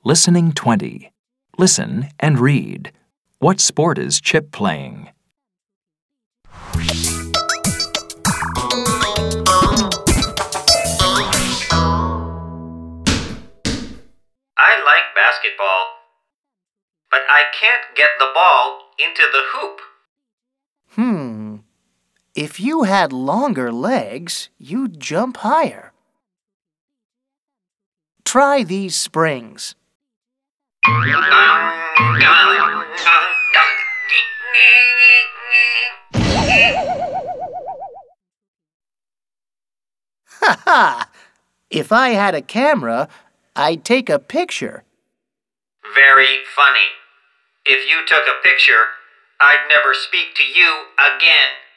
Listening 20. Listen and read. What sport is Chip playing? I like basketball, but I can't get the ball into the hoop. If you had longer legs, you'd jump higher. Try these springs. Ha ha! If I had a camera, I'd take a picture. Very funny. If you took a picture, I'd never speak to you again.